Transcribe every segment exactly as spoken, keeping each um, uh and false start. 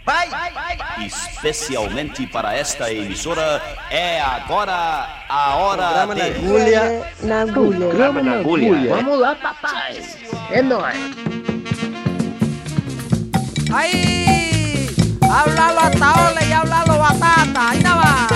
Especialmente para esta emissora, é agora a hora Programa de... na agulha. Na agulha. Programa na agulha. Vamos lá, papai. É nóis. Aí, hablalo hasta ole y hablalo batata. Ahí nada va.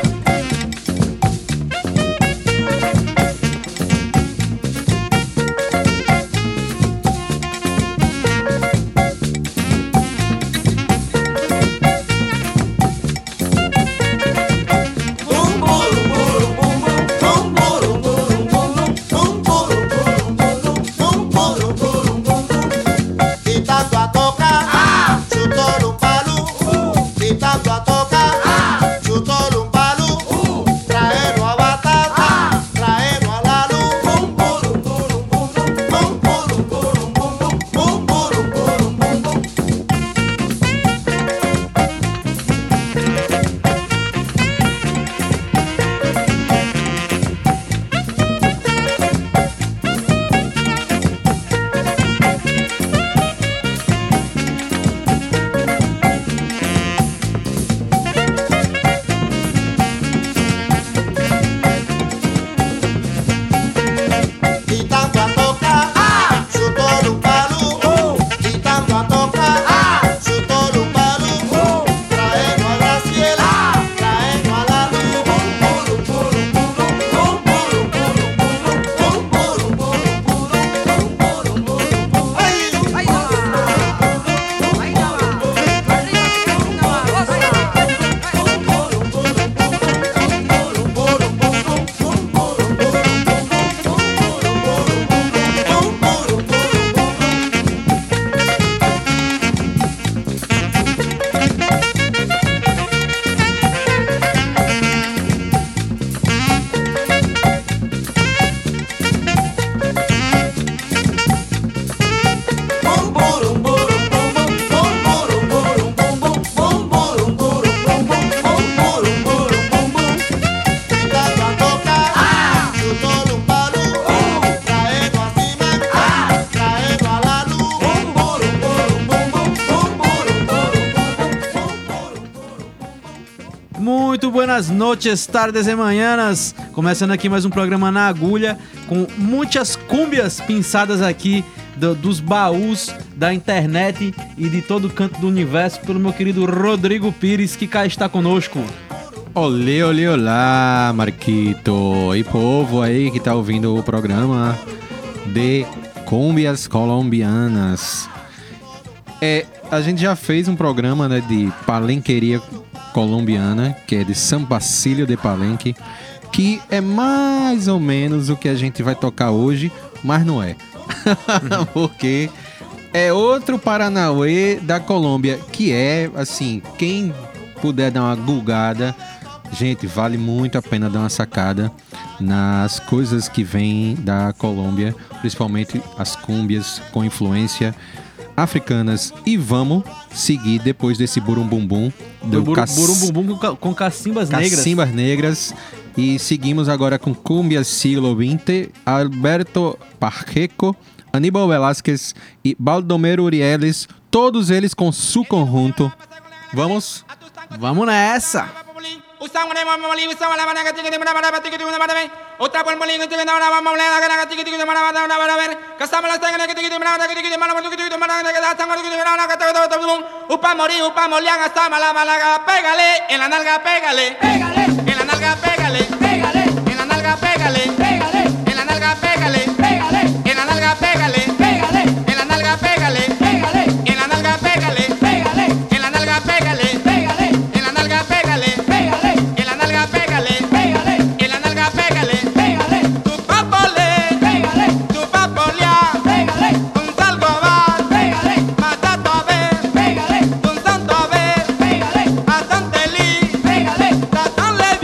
Buenas noches, tardes e manhãs. Começando aqui mais um programa na agulha, com muitas cúmbias pinçadas aqui do, dos baús da internet e de todo canto do universo pelo meu querido Rodrigo Pires, que cá está conosco. Olê, olê, olá, Marquito e povo aí que tá ouvindo o programa de cúmbias colombianas. É, a gente já fez um programa, né, de palenqueria colombiana, que é de São Bacílio de Palenque, que é mais ou menos o que a gente vai tocar hoje, mas não é. Porque é outro Paranauê da Colômbia, que é, assim, quem puder dar uma gulgada, gente, vale muito a pena dar uma sacada nas coisas que vêm da Colômbia, principalmente as cúmbias com influência africanas. E vamos seguir depois desse burumbumbum do Bur, cac... burumbumbum com, com cacimbas negras. Cacimbas negras. E seguimos agora com Cumbia Siglo vinte, Alberto Pacheco, Aníbal Velázquez e Baldomero Urieles, todos eles com su conjunto. Vamos? Vamos nessa! Upa morir, upa molian, hasta mala malaga, pégale, en la nalga, pégale, pégale, en la nalga, pégale, pégale, en la nalga, pégale, pégale, en la nalga, pégale, pégale, en la nalga, pégale, pégale, en la nalga, pégale, pégale, en la nalga, pégale, pégale, en la nalga, pégale, pégale, en la nalga, pégale, pégale, en la nalga, pégale, pégale, en la nalga, pégale, pégale, tu papole, pégale, tu papolea, pégale, un salgo va, pégale, matato a ver, pégale, un santo a ver, pégale, a Santeli, pégale, Tatán le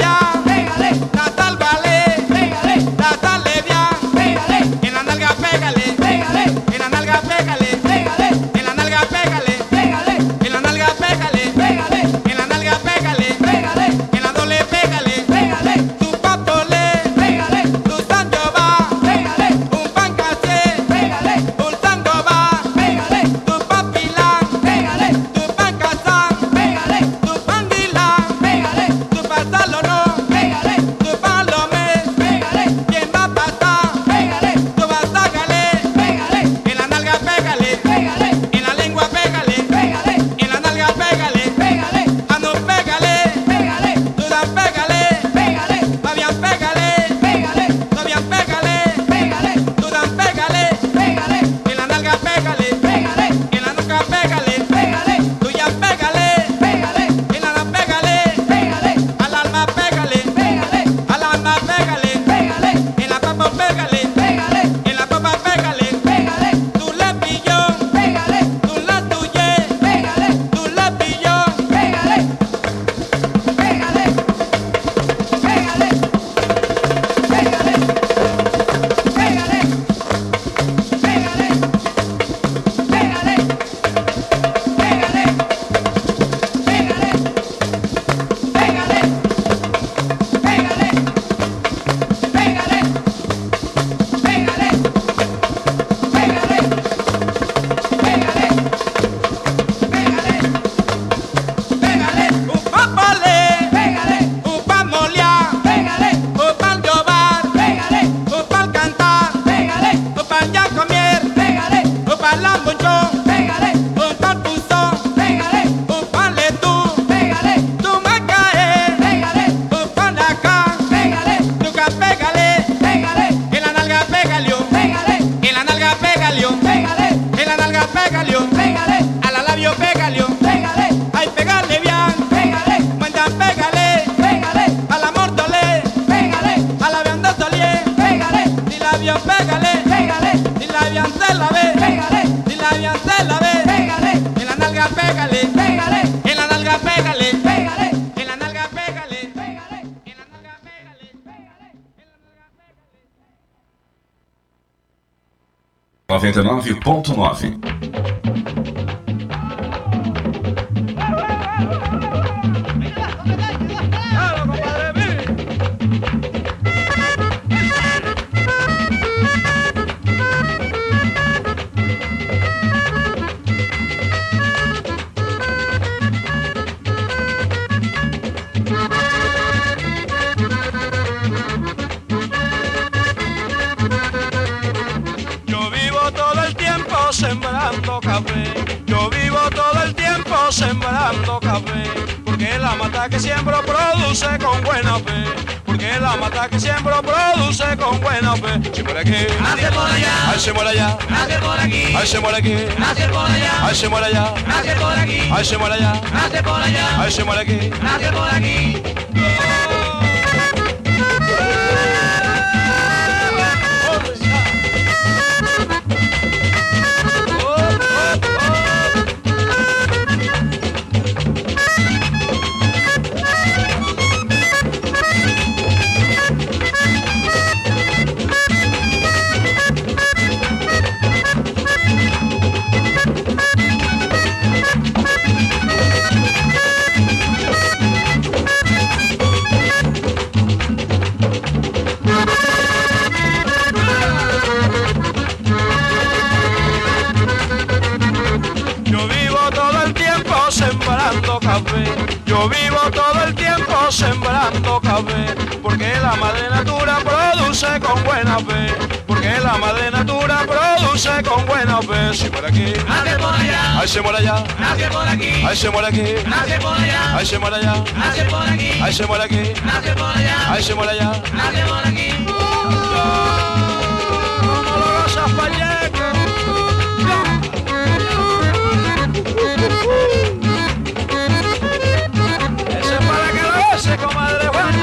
noventa e nove ponto nove. Sembrando café, yo vivo todo el tiempo sembrando café, porque la mata que siembro produce con buena fe, porque la mata que siembro produce con buena fe. Si por aquí, nace por allá, ay se muere allá, nace por aquí, ay se muere aquí, nace por allá, ay se muere allá, nace por aquí, ay se muere allá, nace por allá, ay se muere aquí, nace por aquí. Yo vivo todo el tiempo sembrando café, porque la madre natura produce con buena fe, porque la madre natura produce con buena fe. Si por aquí, nace por allá, ay se muere allá, nace por aquí, ay se muere aquí, nace por allá, ay se muere allá, nace por aquí, ay se muere aquí, nace por allá, ay se muere allá, nace por aquí. ¿Cómo lo gozas, Pacheco? Comadre Juana,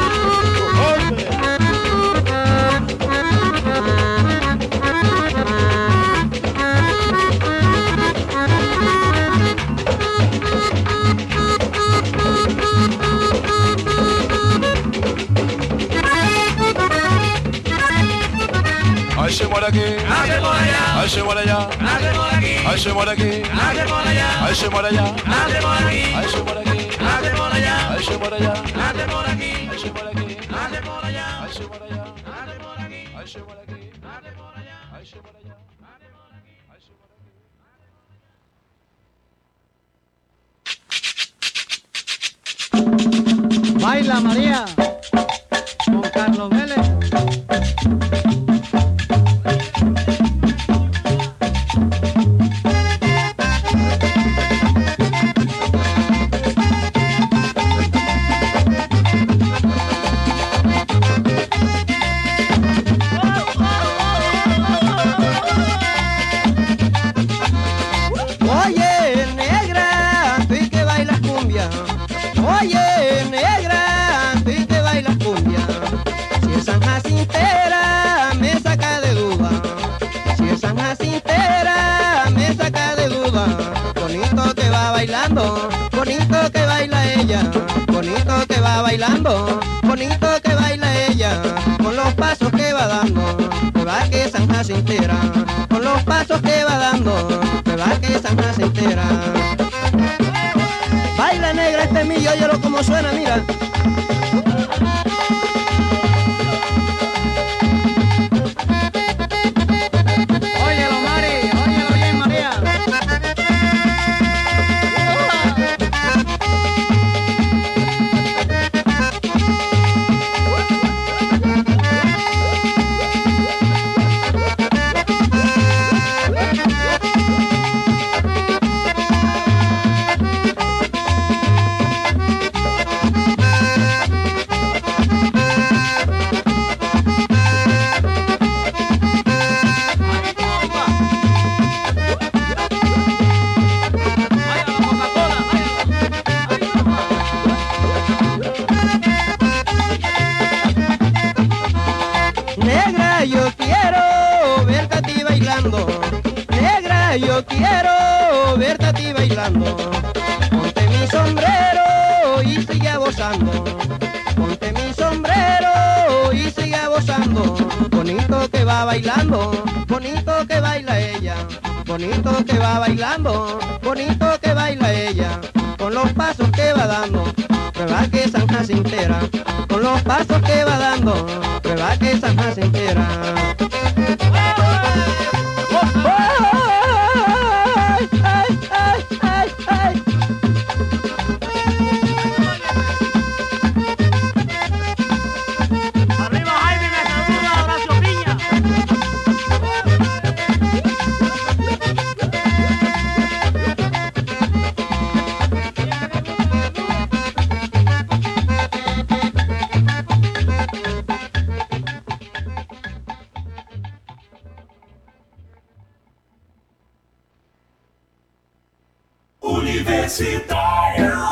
ay se muere aquí, nace por allá, ay se muere allá, nace por aquí, ay se muere aquí, nace por allá, ay se muere allá, nace por aquí, ay se muere aquí, nace por allá, ay se muere allá, nace por aquí, ay se muere aquí, nace por allá, ay se muere allá, nace por aquí, ay se muere aquí, nace por allá, ay se muere allá, nace por aquí. ay se muere aquí. Baila María con Carlos Vélez. Oye, negra, tú que bailas cumbia. Oye, negra, tú que bailas cumbia. Si es San Jacintera, me saca de duda. Si es San Jacintera, me saca de duda. Bonito que va bailando, bonito que baila ella. Bonito que va bailando, bonito que baila ella. Con los pasos que va dando, me va que San Jacintera. Con los pasos que va dando, me va que San Jacintera. Baila negra este millo, óyelo como suena, mira. Óyelo Mari, óyelo bien María. Negra, yo quiero verte a ti bailando. Negra, yo quiero verte a ti bailando. Ponte mi sombrero y sigue gozando. Ponte mi sombrero y sigue gozando. Bonito que va bailando, bonito que baila ella. bonito que va bailando, bonito que baila ella, con los pasos que va dando, prueba que San Jacintera, con los pasos que va dando, prueba que San Jacintera. Universitário.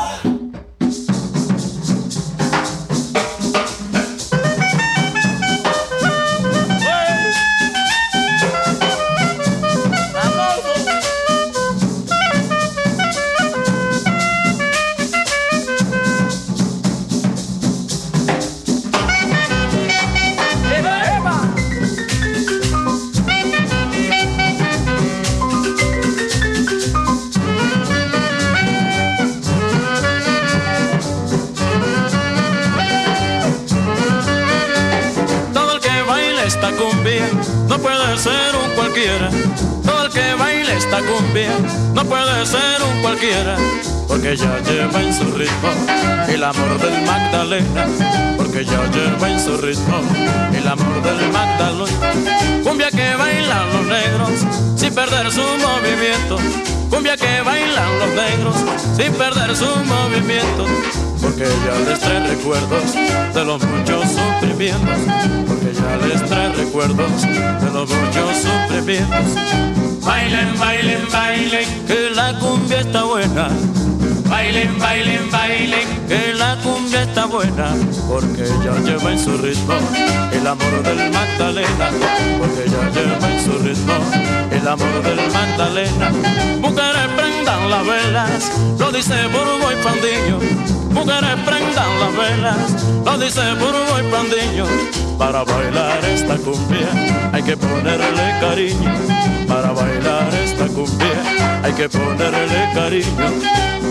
No puede ser un cualquiera, todo el que baila esta cumbia no puede ser un cualquiera, porque ya lleva en su ritmo el amor del Magdalena, porque ya lleva en su ritmo el amor del Magdalena. Cumbia que bailan los negros sin perder su movimiento, cumbia que bailan los negros sin perder su movimiento, porque ya les trae recuerdos de los muchos sufrimientos, porque ya les trae recuerdos de los muchos sufrimientos. Bailen, bailen, bailen, que la cumbia está buena. Bailen, bailen, bailen, que la cumbia está buena, porque ya lleva en su ritmo el amor del Magdalena, porque ya lleva en su ritmo el amor del Magdalena. Mujeres prendan las velas, lo dice Burbo y Pandillo. Mujeres prendan las velas, lo dice Burbo y Pandillo. Para bailar esta cumbia hay que ponerle cariño, para bailar esta cumbia hay que ponerle cariño.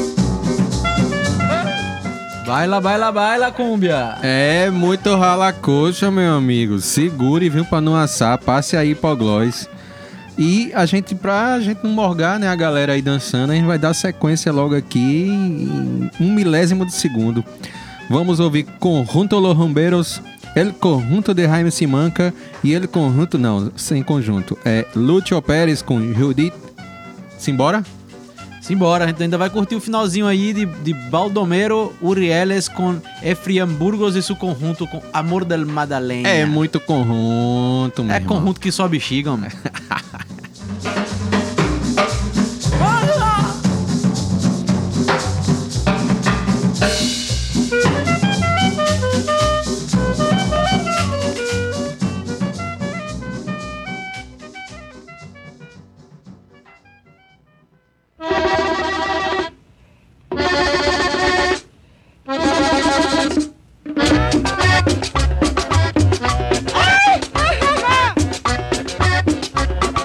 Baila, baila, baila, cumbia. É muito rala-coxa, meu amigo. Segure, viu, pra não assar. Passe aí pro Gloss. E a gente, pra gente não morgar, né, a galera aí dançando, a gente vai dar sequência logo aqui em um milésimo de segundo. Vamos ouvir Conjunto Los Rumberos, El Conjunto de Jaime Simanca e El Conjunto, não, sem conjunto. É Lúcio Pérez com Judith. Simbora? Simbora, a gente ainda vai curtir o finalzinho aí de, de Baldomero Urieles com Efriam Burgos e seu conjunto com Amor del Madalena. É muito conjunto, meu É irmão. conjunto que só bexiga, mano. Ay, ay, ay, ay.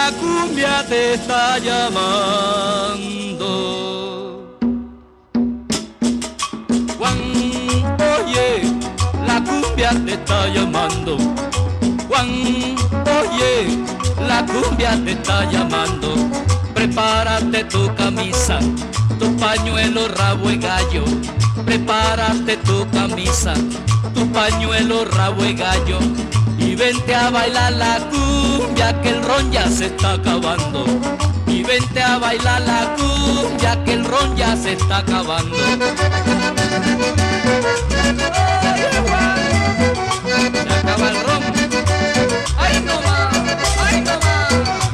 la cumbia te está llamando. Juan, oye, la cumbia te está llamando. Juan, oye, la cumbia te está llamando. Prepárate tu camisa, tu pañuelo, rabo de gallo. Prepárate tu camisa, tu pañuelo, rabo de gallo. Y vente a bailar la cumbia que el ron ya se está acabando. Y vente a bailar la cumbia que el ron ya se está acabando. Se acaba el ron. ¡Ay, no más! ¡Ay, no más!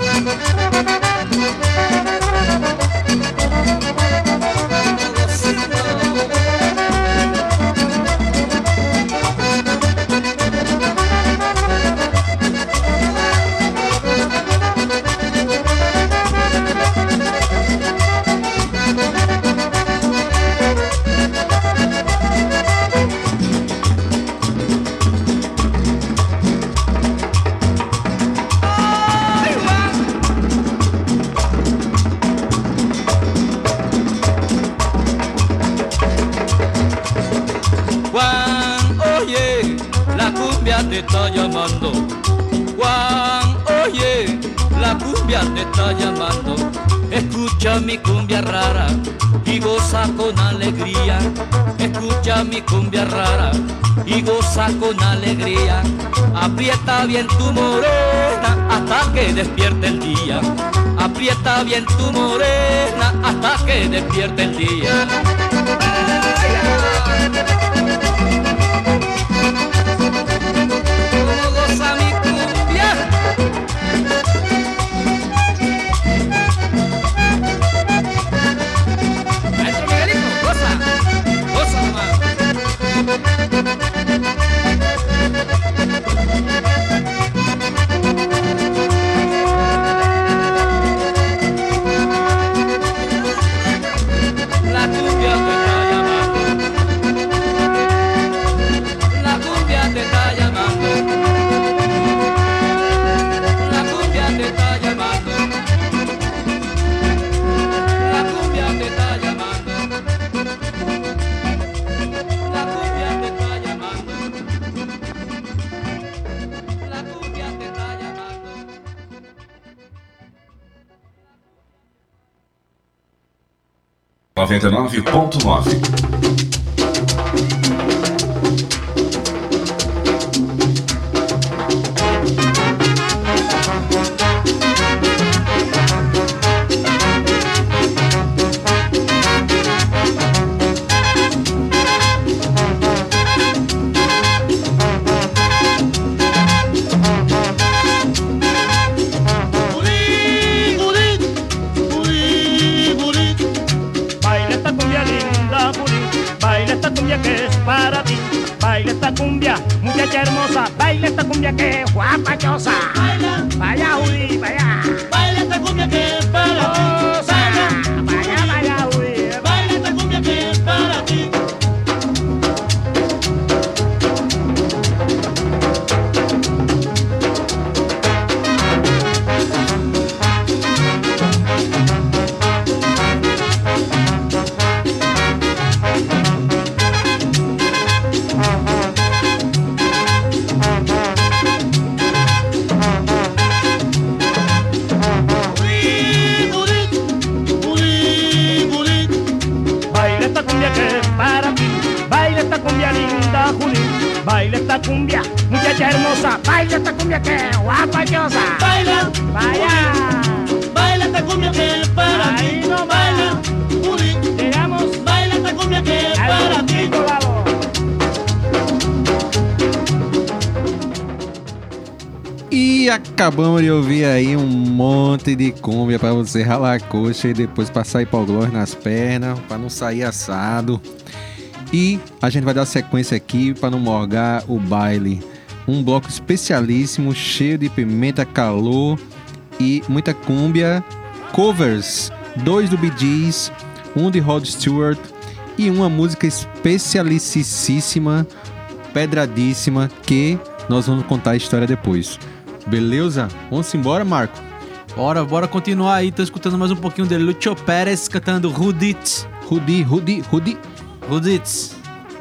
Te está llamando. Juan, oye, la cumbia te está llamando. Escucha mi cumbia rara y goza con alegría. Escucha mi cumbia rara y goza con alegría. Aprieta bien tu morena hasta que despierte el día. Aprieta bien tu morena hasta que despierte el día. noventa e nove ponto nove. Hermosa, baila esta cumbia que es guapachosa. Baila, vaya Judy, vaya. Baila esta cumbia que es para ti. Vaya, vaya Judy. Baila esta cumbia que es para ti. Baila esta cumbia, muchacha hermosa. Baila esta cumbia que es guapachosa. Baila, vaya. Baila esta cumbia que es para ti. No baila, Juli. Llegamos. Baila esta cumbia que es para ti. E acabamos de ouvir aí um monte de cumbia pra você ralar a coxa e depois passar hipoglós nas pernas, pra não sair assado. E a gente vai dar sequência aqui para não morgar o baile. Um bloco especialíssimo, cheio de pimenta, calor e muita cúmbia. Covers, dois do Bee Gees, um de Rod Stewart e uma música especialicíssima, pedradíssima, que nós vamos contar a história depois. Beleza? Vamos embora, Marco? Bora, bora continuar aí. Tô escutando mais um pouquinho de Lucho Pérez cantando Rudits. Rudi, Rudi, Rudi. Rudits.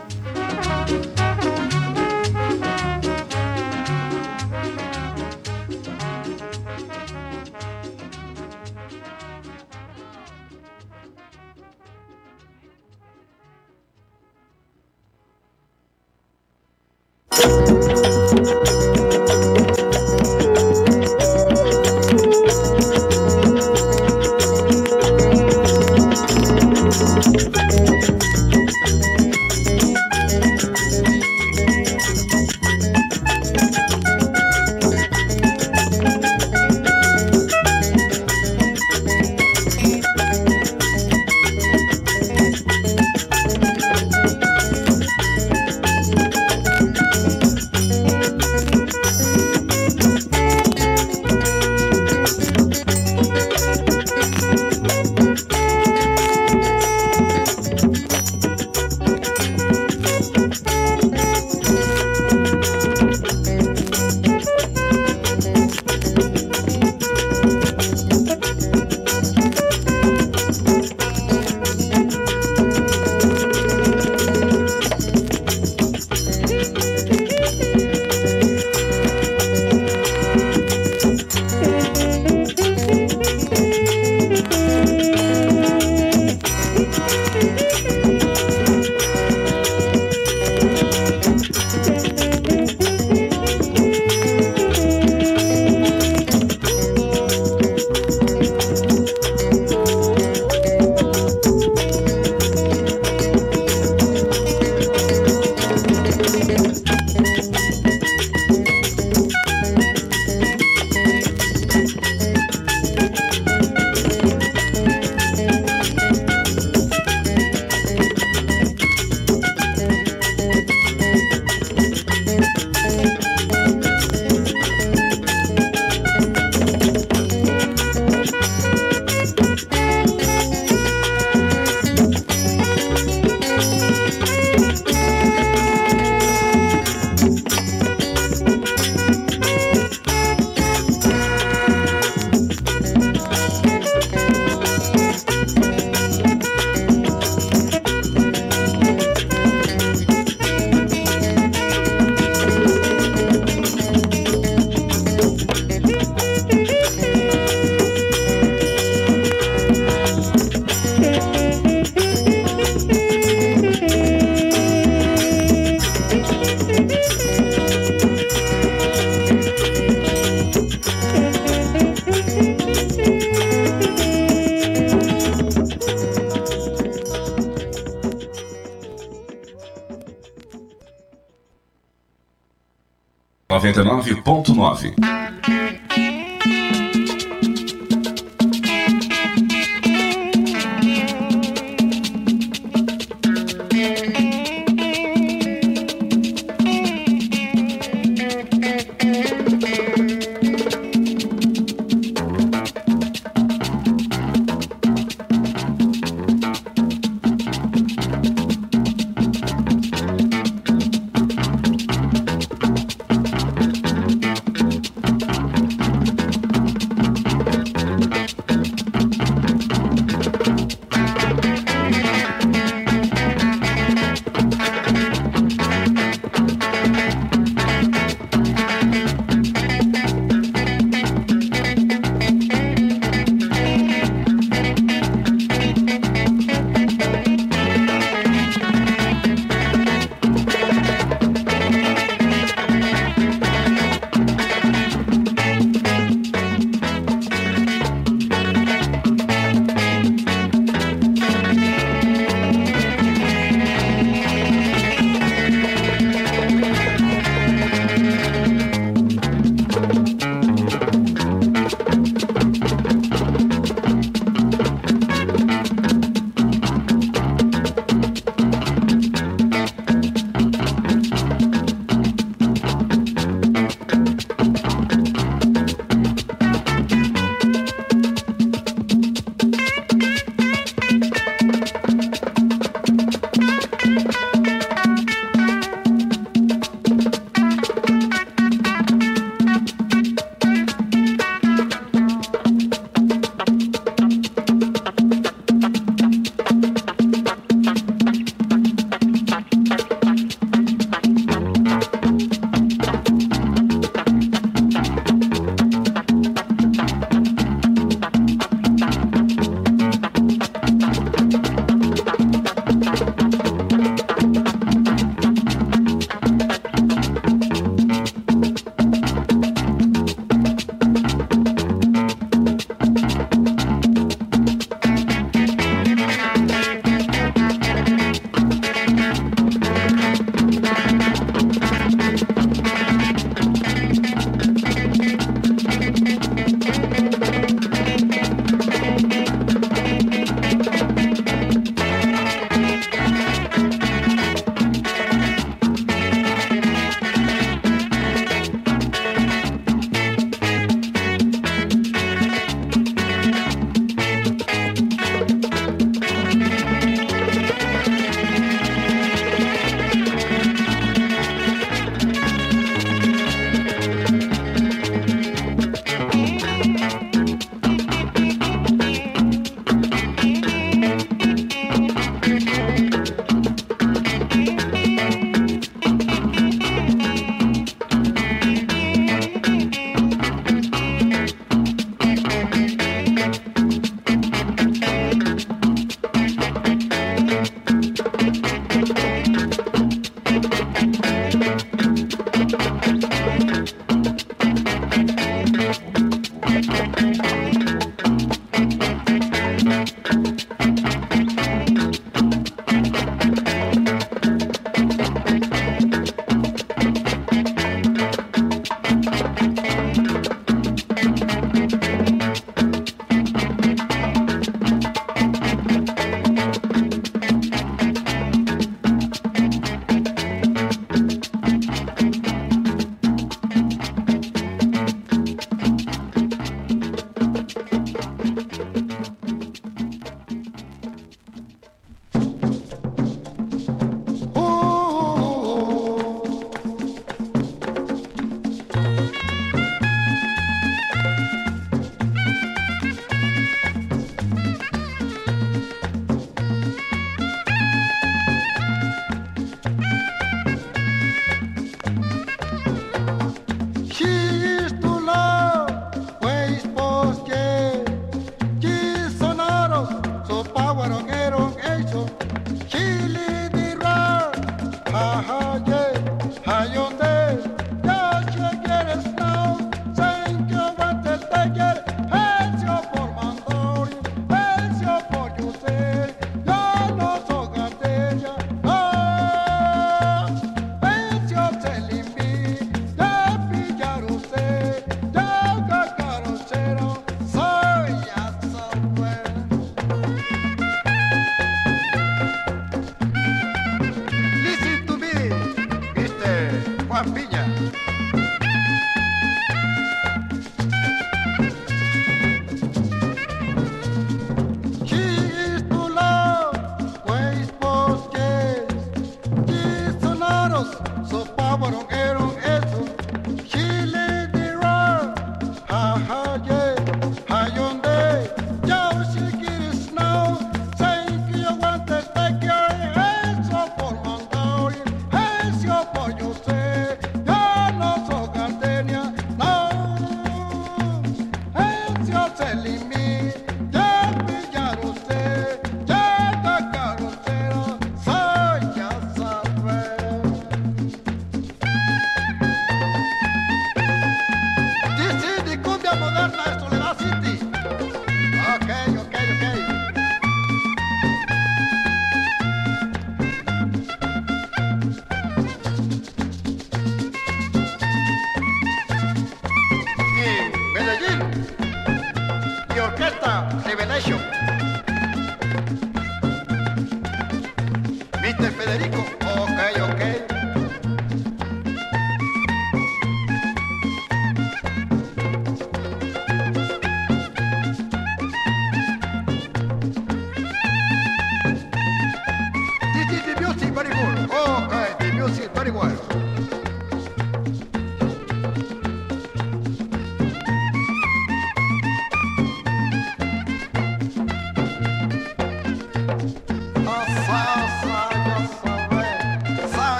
noventa e nove ponto nove.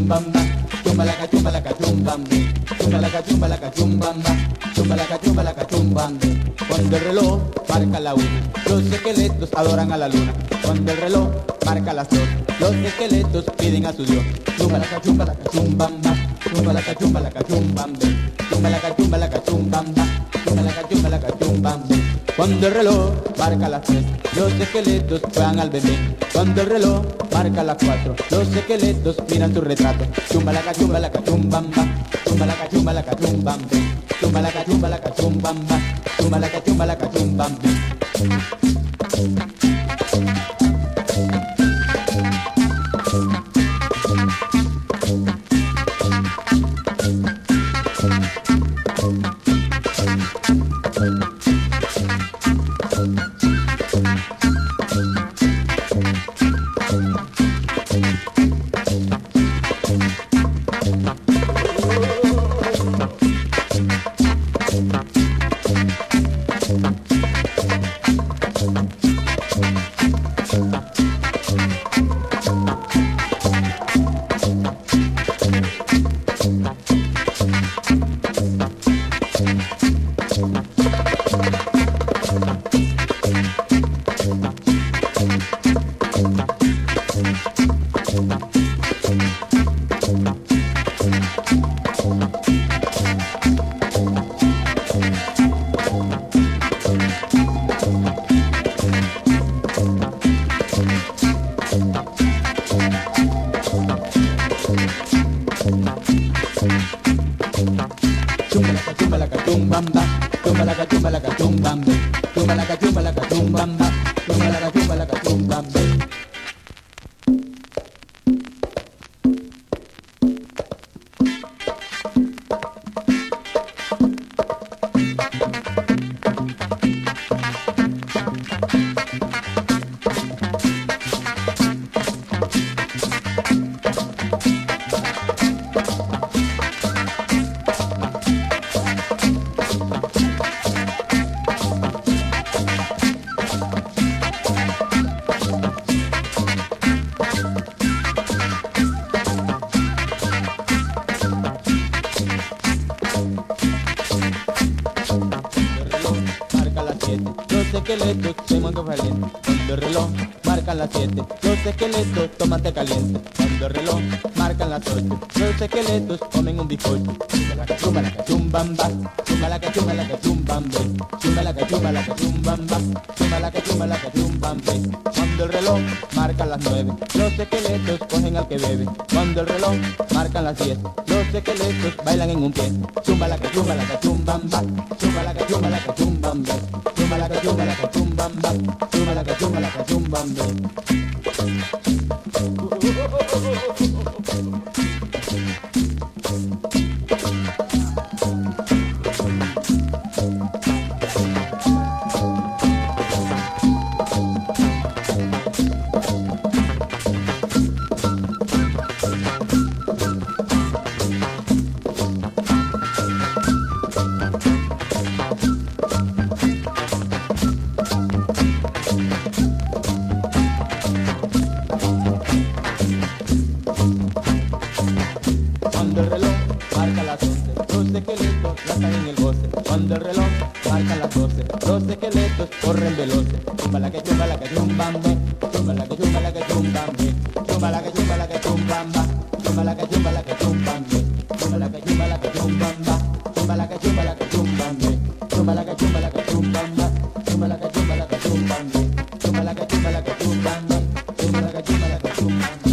chumbamba, chumbalaca, chumbalaca, chumbambe, chumbalaca, chumbalaca, chumbamba, chumbalaca, chumbalaca, chumbambe. Cuando el reloj marca la una, los esqueletos adoran a la luna. Cuando el reloj marca las dos, los esqueletos piden a su Dios. Chumbalaca, chumbalaca, chumbamba, chumbalaca, chumbalaca, chumbambe, chumbalaca, chumbalaca, chumbamba, chumbalaca, chumbalaca, chumbambe. Cuando el reloj marca las tres, los esqueletos juegan al bebé. Cuando el reloj marca las cuatro, los esqueletos miran tu retrato. Chumbalaca, chumbalaca, chumbamba, chumbalaca, chumbalaca, chumbambe, chumbalaca, chumbalaca, chumbamba, chumbalaca, chumbalaca, chumbambe. Cuando el reloj marca las siete, los esqueletos toman té caliente. Cuando el reloj marca las ocho, los esqueletos comen un bizcocho. Chumbalaca, chumbalaca, chumbamba, chumbalaca, chumbalaca, chumbambe, chumbalaca, chumbalaca, chumbamba, chumbalaca, chumbalaca, chumbambe. Cuando el reloj marca las nueve, los esqueletos cogen al que bebe. Cuando el reloj marca las diez, los esqueletos bailan en un pie. Chumbalaca, chumbalaca, chumbamba, chumbalaca, chumbalaca, chumbambe, chumbalaca, chumbalaca, chumbamba, chumbalaca, chumbalaca, chumbambe. Cuando el reloj marca las once, los esqueletos lanzan en el goce. Cuando el reloj marca las doce, los esqueletos corren veloces. Chumbalaca, chumbalaca, chumbambe, chumbalaca, chumbalaca, chumbambe, chumbalaca, chumbalaca, chumbamba, chumbalaca, chumbalaca, chumbambe, chumbalaca, chumbalaca, chumbamba, chumbalaca, chumbalaca, chumbambe, chumbalaca, chumbalaca, chumbamba, chumbalaca, chumbalaca, chumbambe, chumbalaca, chumbalaca, chumbamba, chumbalaca, chumbalaca, chumbambe.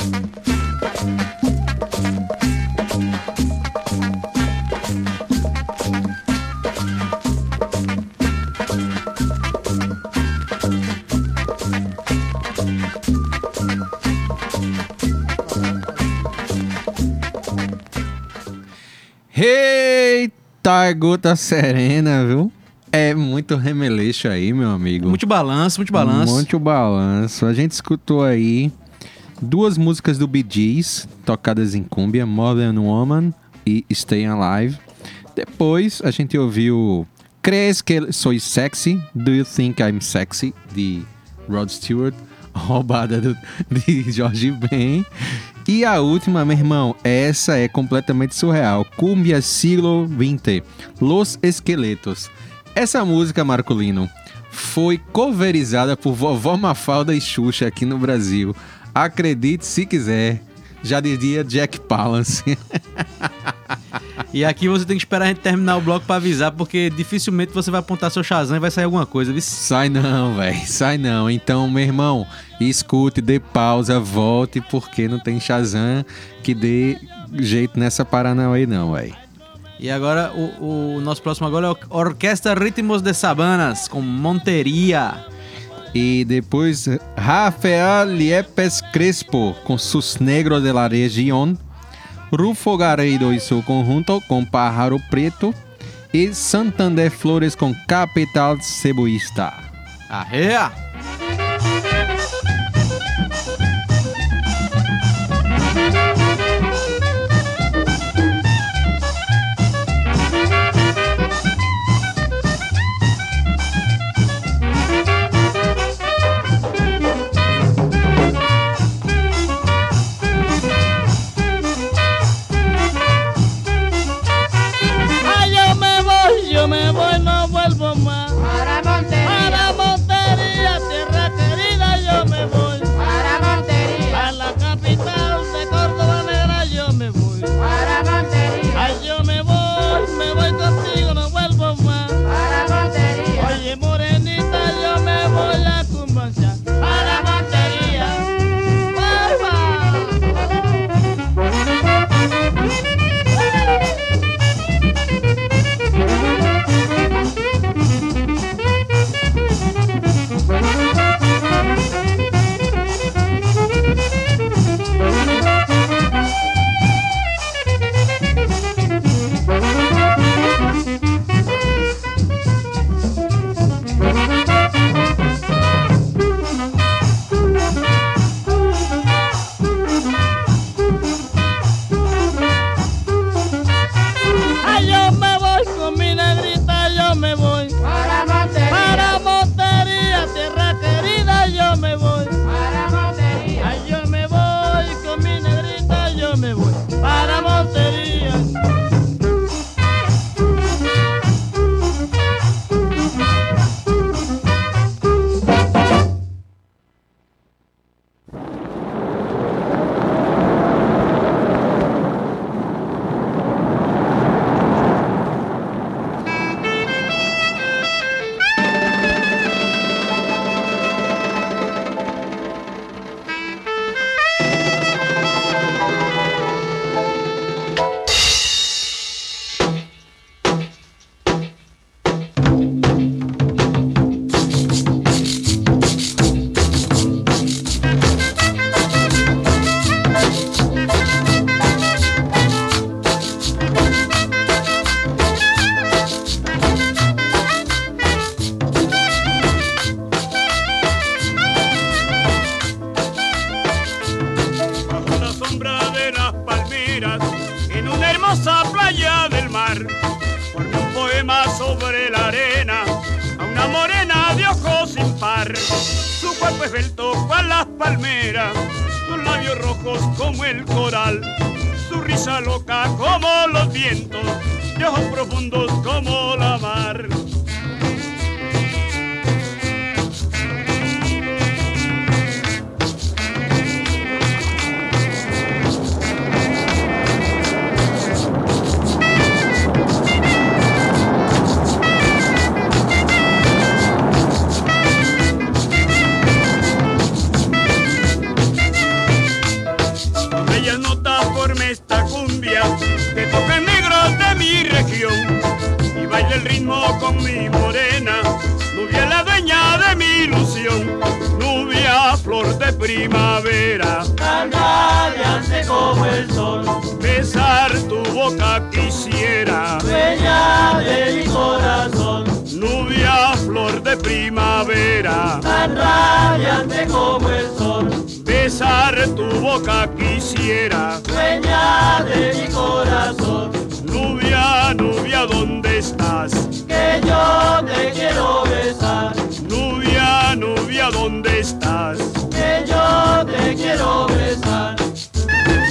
Eita, gota serena, viu? É muito remeleixo aí, meu amigo. Muito balanço, muito balanço. Muito balanço. A gente escutou aí duas músicas do Bee Gees, tocadas em cúmbia, Modern Woman e Stay Alive. Depois a gente ouviu Crees que Soy Sexy, Do You Think I'm Sexy, de Rod Stewart, roubada do, de Jorge Ben. E a última, meu irmão, essa é completamente surreal. Cumbia siglo vinte, Los Esqueletos. Essa música, Marcolino, foi coverizada por Vovó Mafalda e Xuxa aqui no Brasil. Acredite se quiser, já dizia Jack Palance. E aqui você tem que esperar a gente terminar o bloco pra avisar, porque dificilmente você vai apontar seu Shazam e vai sair alguma coisa, viu? Sai não, velho, sai não. Então, meu irmão, escute, dê pausa, volte, porque não tem Shazam que dê jeito nessa Paranauê não, velho. E agora, o, o nosso próximo agora é a Orquestra Ritmos de Sabanas, com Monteria. E depois, Rafael Liepes Crespo, com Sus Negros de la Región. Rufo Garrido y su conjunto con Pájaro Preto. Y Santander Flores con Capital Ceboísta. ¡Ajea! Yo me voy, no vuelvo más. Para Montería. Para Montería, tierra querida, yo me voy. Para Montería. A la capital de Córdoba negra, yo me voy. Para Montería. Ay, yo me voy, me voy contigo, no vuelvo más. Para Montería. Oye, morenita, yo me voy a Cumbancha. Para Montería. Primavera, tan radiante como el sol, besar tu boca quisiera, dueña de mi corazón. Nubia, flor de primavera, tan radiante como el sol, besar tu boca quisiera, dueña de mi corazón. Nubia, nubia, ¿dónde estás? Que yo te quiero besar. Nubia, nubia, ¿dónde estás? Que yo te quiero besar.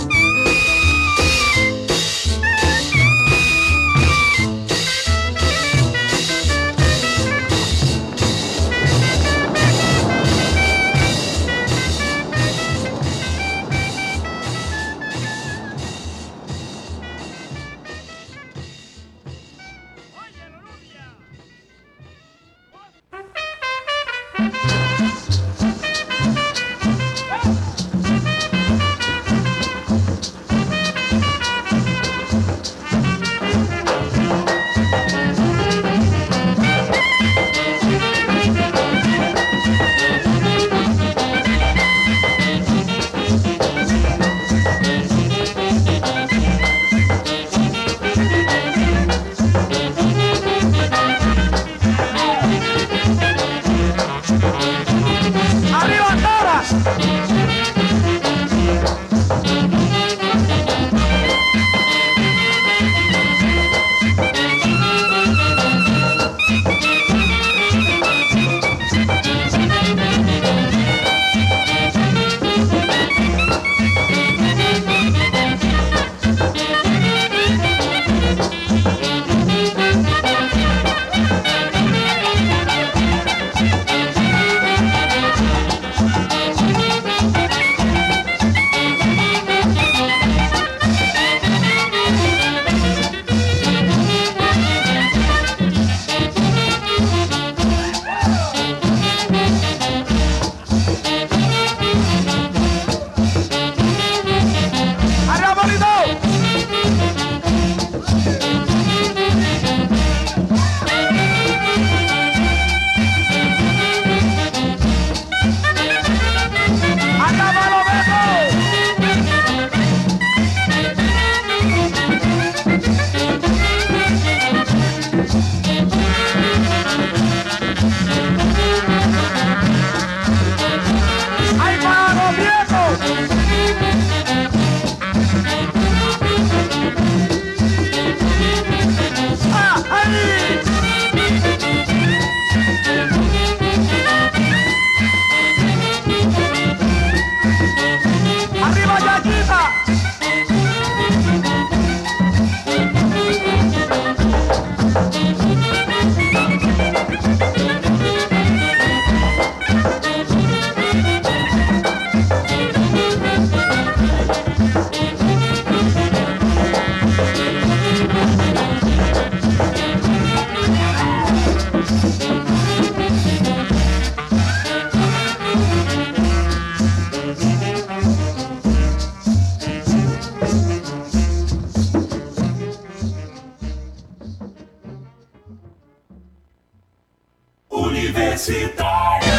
Universitária.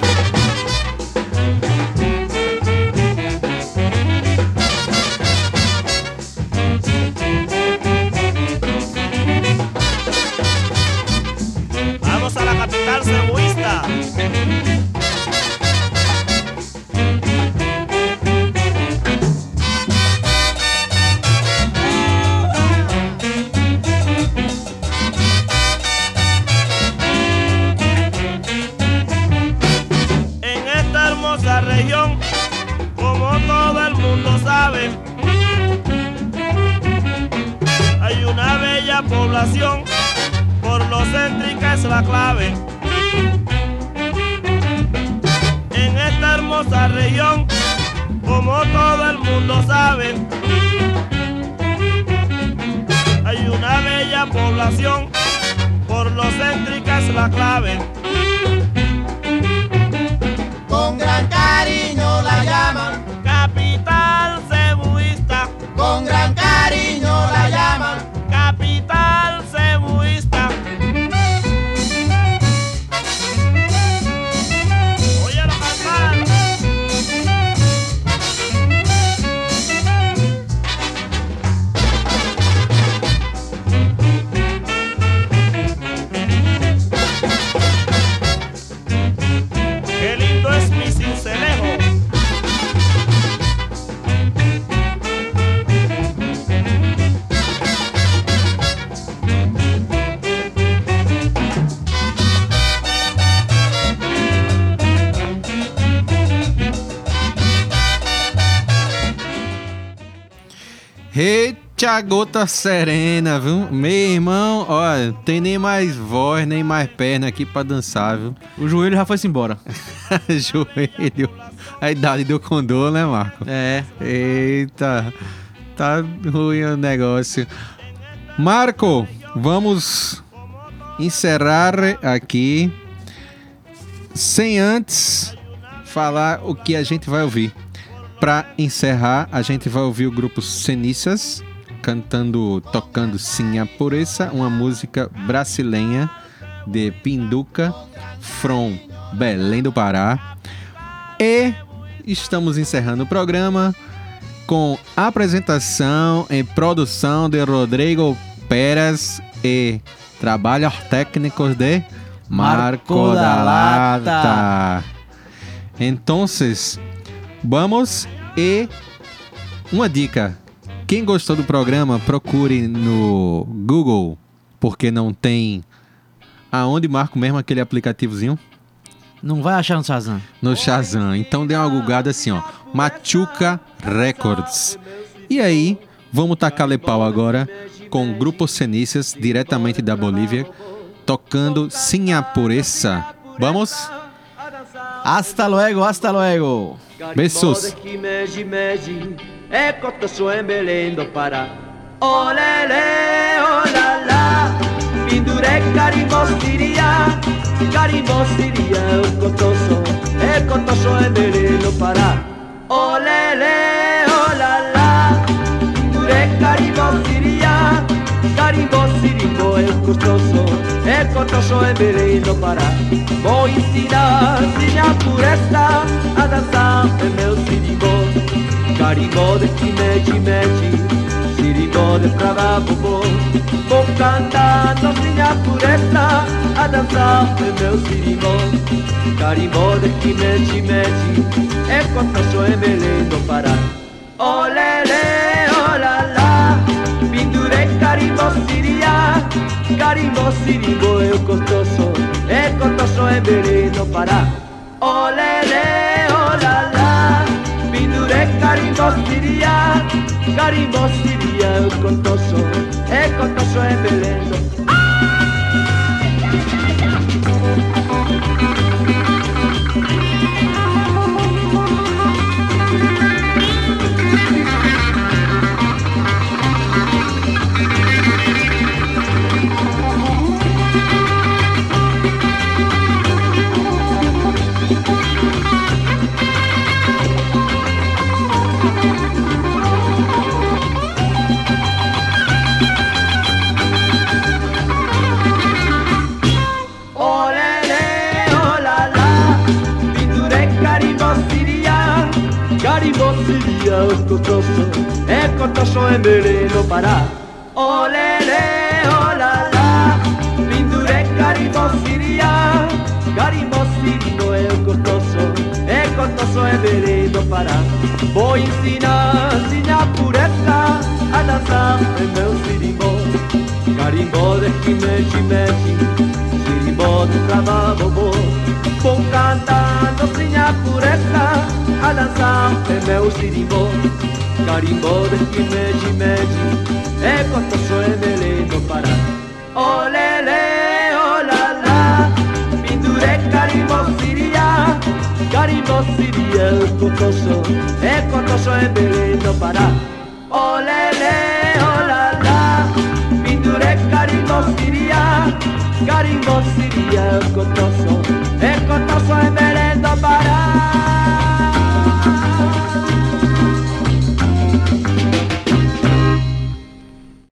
Vamos a la capital cebuista. En esta hermosa región, como todo el mundo sabe, hay una bella población. Por lo céntrica es la clave. En esta hermosa región, como todo el mundo sabe, hay una bella población. Por lo céntrica es la clave. Con gran cariño la llaman capital cebuista. Con gran cariño la llaman capital cebuista. Óyelo cantar. Qué lindo es mi Sincelejo. Eita gota serena, viu? Meu irmão, olha, tem nem mais voz, nem mais perna aqui pra dançar, viu? O joelho já foi-se embora. Joelho. A idade do condor, né, Marco? É. Eita, tá ruim o negócio. Marco, vamos encerrar aqui sem antes falar o que a gente vai ouvir. Para encerrar, a gente vai ouvir o grupo Cenícias cantando, tocando Sim a Pureza, uma música brasileira de Pinduca, from Belém do Pará. E estamos encerrando o programa com apresentação e produção de Rodrigo Pérez e trabalhos técnicos de Marco, Marco da Lata. Lata. Então, vamos e uma dica. Quem gostou do programa, procure no Google, porque não tem aonde, Marco, mesmo aquele aplicativozinho? Não vai achar no Shazam. No Shazam. Então dê uma googada assim, ó. Machuca Records. E aí, vamos tacar-lhe pau agora com o Grupo Cenícias, diretamente da Bolívia, tocando Sim a Pureza. Vamos? Hasta luego, hasta luego. Besos. É cotoso em Belém do Pará. Olele, olala, penduré carimbó siria, carimbó siria, o cotoso, é cotoso em Belém do Pará. Olele, olala, penduré carimbó siria, carimbó sirimbo, é cotoso, é cotoso em Belém do Pará. Vou ensinar, sim, a pureza, a dançar em meu sirimbó. Carimbó de chimechi-mechi, sirimbó de pravabobô. Vou cantando sim a pureza, a dançar em meu sirimbó. Carimbó de chimechi-mechi, é cotoso em Belém do Pará. Olele, olala, pendurei carimbó siria, carimbó sirimbó é cotoso, é cotoso em Belém do Pará. Olele, olala, penduré carimbó siria, carimbó siria, é cotoso, é cotoso em Belém do Pará. sería costoso, es costoso en Belén para. Olele, olala, Lindure carimbo siria, carimbo sirio es costoso, es costoso en Belén para. Voy ensinar, ensinar pureza, a danzar en meu sirimbo, carimbo de quimechi mechi, sirimbo de trabajo vos. Vou cantando sinha pureza, a dançar é meu sirimbo, carimbo de quimeji meji, é costoso é beleno para. Olele, olala, pendure carimbo siria, carimbo siria é costoso, é costoso é beleno para. Olele, olala, pendure carimbo siria, carimbo siria é costoso, é costoso é beleno.